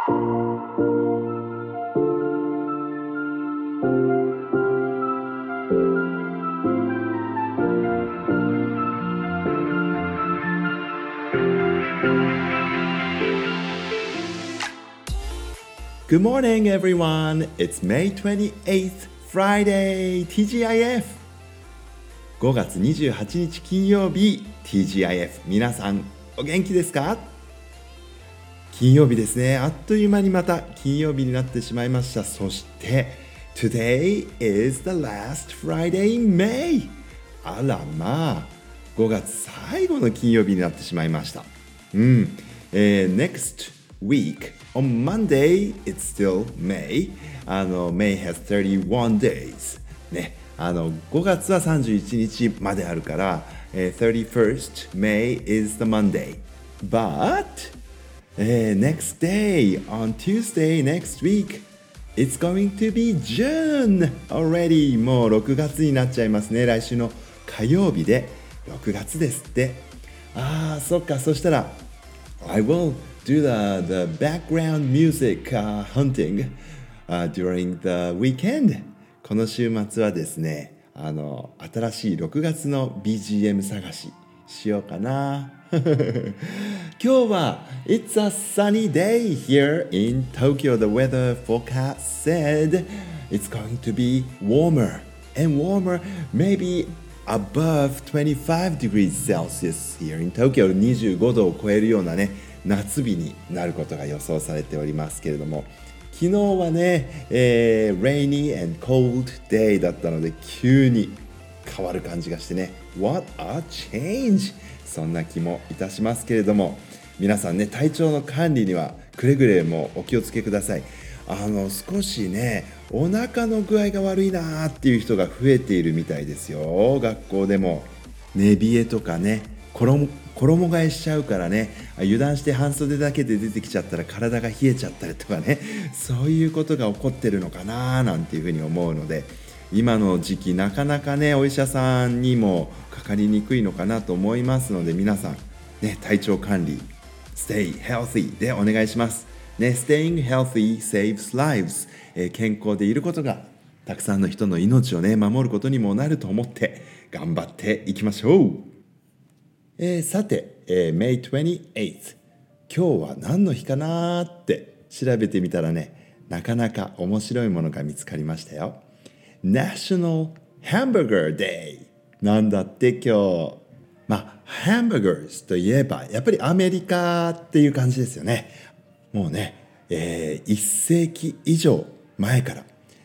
Good morning, everyone. It's May 28th, Friday, TGIF. 5月28日金曜日、TGIF。皆さん、お元気ですか？金曜日ですね。あっという間にまた金曜日になってしまいました。そして、Today is the last Friday in May. あらまあ、5月最後の金曜日になってしまいました。Next week.On Monday, it's still May. May has 31 days. ね、5月は31日まであるから、31st May is the Monday. But, next day, on Tuesday next week, it's going to be June already. もう6月になっちゃいますね。来週の火曜日で6月ですって。そっか。そしたら、I will do the background music hunting during the weekend. この週末はですね、新しい6月の BGM 探ししようかな。今日は It's a sunny day here in Tokyo. The weather forecast said it's going to be warmer and warmer, maybe above 25 degrees Celsius here in Tokyo. 25度を超えるようなね、夏日になることが予想されておりますけれども、昨日はね、rainy and cold day だったので急に変わる感じがしてね、What a change! そんな気もいたしますけれども、皆さんね、体調の管理にはくれぐれもお気をつけください。少しね、お腹の具合が悪いなーっていう人が増えているみたいですよ。学校でも寝冷えとかね、衣替えしちゃうからね、油断して半袖だけで出てきちゃったら体が冷えちゃったりとかね、そういうことが起こってるのかななんていうふうに思うので、今の時期なかなかね、お医者さんにもかかりにくいのかなと思いますので、皆さん、ね、体調管理 Stay healthy でお願いします、ね、Staying healthy saves lives、健康でいることがたくさんの人の命をね、守ることにもなると思って頑張っていきましょう。さて、May 28th 今日は何の日かなって調べてみたらね、なかなか面白いものが見つかりましたよ。 National Hamburger Day なんだって今日。ハンバーガーといえばやっぱりアメリカっていう感じですよね。もうね、1世紀以上前から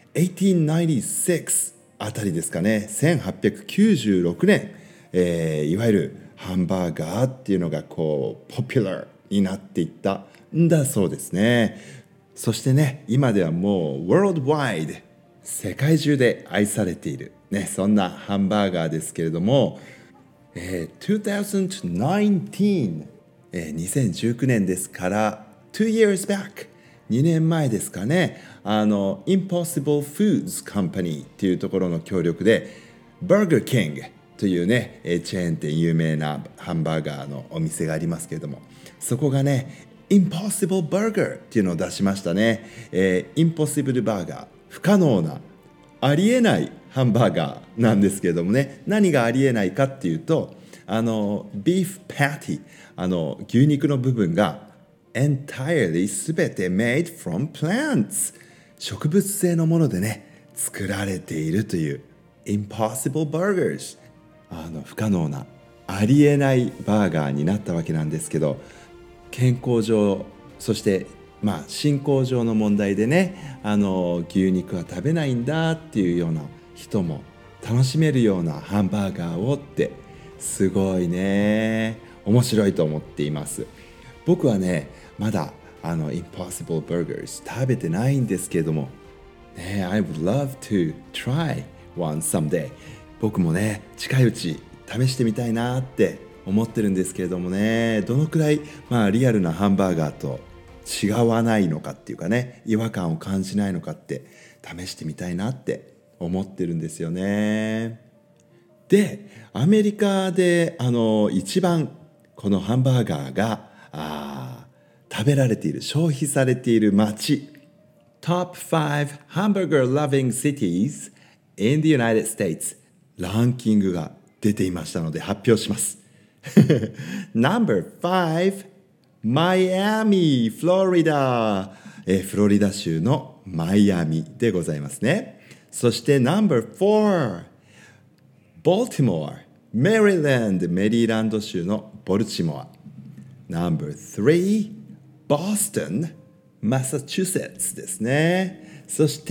1896あたりですかね、1896年、いわゆるハンバーガーっていうのがこうポピュラーになっていったんだそうですね。そしてね、今ではもう worldwide 世界中で愛されている、ね、そんなハンバーガーですけれども、2019、2019年ですから2 years back 2年前ですかね、Impossible Foods Company っていうところの協力で Burger King というね、チェーン店有名なハンバーガーのお店がありますけれども、そこがね Impossible Burger っていうのを出しましたね。Impossible Burger 不可能なありえないハンバーガーなんですけれどもね、何がありえないかっていうと、ビーフパティ、牛肉の部分が entirely すべて made from plants 植物性のものでね作られているという Impossible Burgers、不可能なありえないバーガーになったわけなんですけど、健康上そして信仰上の問題でね、牛肉は食べないんだっていうような人も楽しめるようなハンバーガーをってすごいね、面白いと思っています。僕はねまだImpossible Burgers 食べてないんですけれども、ね、I would love to try one someday。 僕もね近いうち試してみたいなって思ってるんですけれどもね、どのくらいリアルなハンバーガーと違わないのかっていうかね、違和感を感じないのかって試してみたいなって思ってるんですよね。で、アメリカで一番このハンバーガーが食べられている、消費されている街。Top 5 Hamburger Loving Cities in the United States ランキングが出ていましたので発表します。No.5 マイアミ、フロリダ、フロリダ州のマイアミでございますね。そして No.4 ボルティモア、メリーランド、メリーランド州のボルチモア。No.3 ボストン、マサチューセッツですね。そして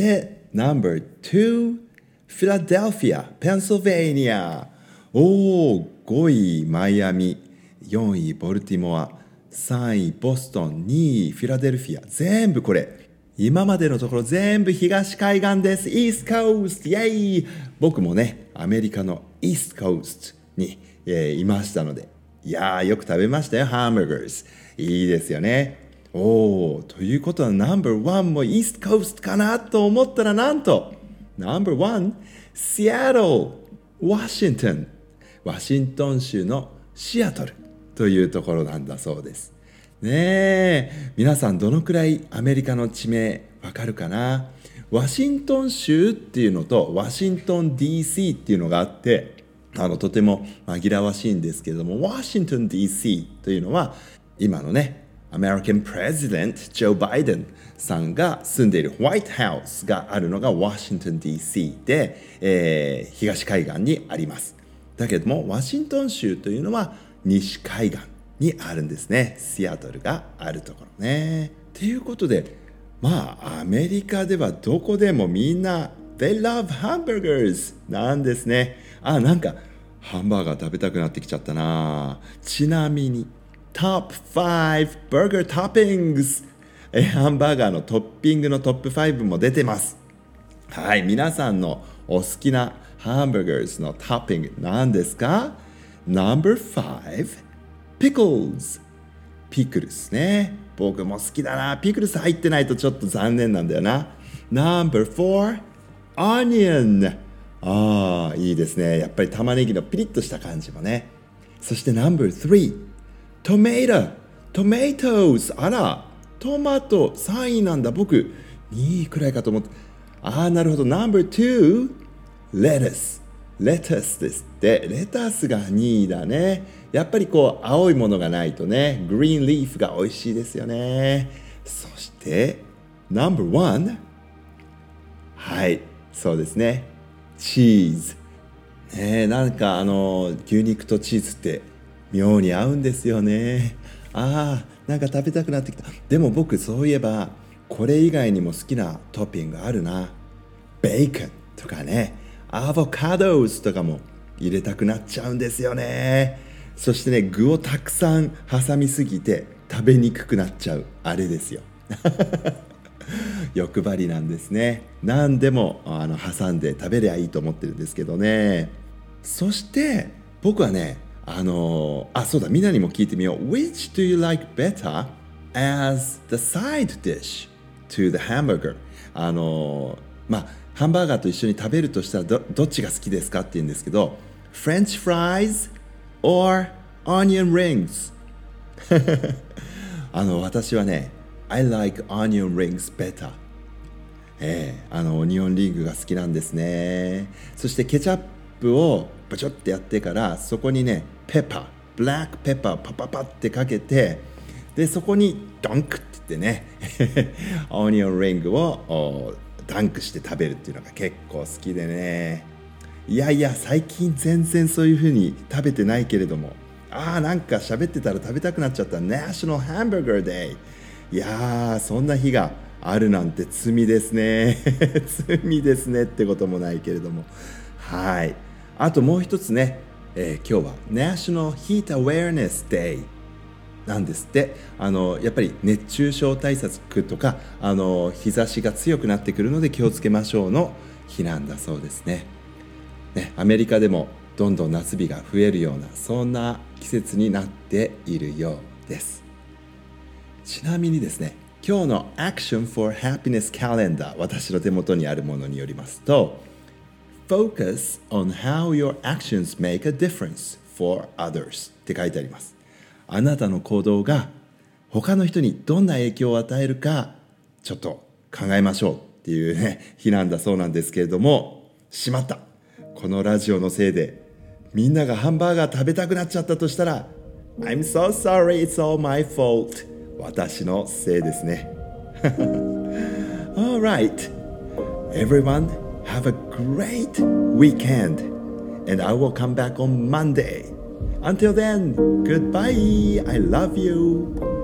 No.2 フィラデルフィア、ペンシルベニア。5位マイアミ、4位ボルティモア、3位ボストン、2位フィラデルフィア。全部これ今までのところ全部東海岸です。イーストコースト、イェイ。僕もねアメリカのイーストコーストに、いましたので、いやーよく食べましたよ。ハンバーガーズいいですよね。ということは No.1 もイーストコーストかなと思ったら、なんと No.1 シアトル、ワシントン、ワシントン州のシアトルというところなんだそうですね。え皆さんどのくらいアメリカの地名わかるかな。ワシントン州っていうのとワシントン DC っていうのがあって、とても紛らわしいんですけれども、ワシントン DC というのは今のねアメリカンプレジデントジョー・バイデンさんが住んでいるホワイトハウスがあるのがワシントン DC で、東海岸にあります。だけどもワシントン州というのは西海岸にあるんですね。シアトルがあるところね。ということで、アメリカではどこでもみんな They love hamburgers なんですね。なんかハンバーガー食べたくなってきちゃったな。ちなみにTop 5 Burger Toppings、ハンバーガーのトッピングのトップ5も出てます。はい、皆さんのお好きなハンバーガーのトッピング何ですか？ No.5 Pickles、 ピクルスね。僕も好きだな。ピクルス入ってないとちょっと残念なんだよな。No.4 Onion、 いいですね。やっぱり玉ねぎのピリッとした感じもね。そして No.3 Tomatoes、 あらトマト3位なんだ。僕2位くらいかと思って。なるほど。 No.2 レタスですって。レタスが2位だね。やっぱりこう青いものがないとね、グリーンリーフが美味しいですよね。そして No.1、 はいそうですね、チーズ、なんか牛肉とチーズって妙に合うんですよね。なんか食べたくなってきた。でも僕そういえばこれ以外にも好きなトッピングあるな。ベーコンとかね、アボカドとかも入れたくなっちゃうんですよね。そしてね、具をたくさん挟みすぎて食べにくくなっちゃうあれですよ。欲張りなんですね。何でも挟んで食べりゃいいと思ってるんですけどね。そして僕はね、そうだ、みんなにも聞いてみよう。Which do you like better as the side dish to the hamburger？ ハンバーガーと一緒に食べるとしたらどっちが好きですかって言うんですけど、French fries or onion rings？ 私はね、I like onion rings better。オニオンリングが好きなんですね。そしてケチャップをブチョってやってから、そこにねブラックペッパーパパパってかけて、でそこにドンクって言ってねオニオンリングをダンクして食べるっていうのが結構好きでね。いや最近全然そういう風に食べてないけれども、なんか喋ってたら食べたくなっちゃった。 National Hamburger Day。 いやそんな日があるなんて罪ですね。罪ですねってこともないけれども、はい。あともう一つね、今日は National Heat Awareness Day なんですって。やっぱり熱中症対策とか日差しが強くなってくるので気をつけましょうの日なんだそうですね。アメリカでもどんどん夏日が増えるような、そんな季節になっているようです。ちなみにですね、今日の Action for Happiness Calendar、 私の手元にあるものによりますと、 Focus on how your actions make a difference for others って書いてあります。あなたの行動が他の人にどんな影響を与えるかちょっと考えましょうっていうね日なんだそうなんですけれども、しまった、このラジオのせいでみんながハンバーガー食べたくなっちゃったとしたら I'm so sorry, it's all my fault、 私のせいですね。Alright, everyone have a great weekend and I will come back on Monday. Until then, goodbye, I love you.